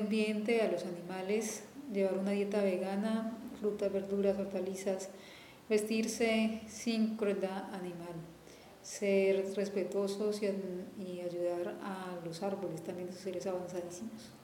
ambiente, a los animales, llevar una dieta vegana, frutas, verduras, hortalizas, vestirse sin crueldad animal, ser respetuosos y ayudar a los árboles, también esos seres avanzadísimos.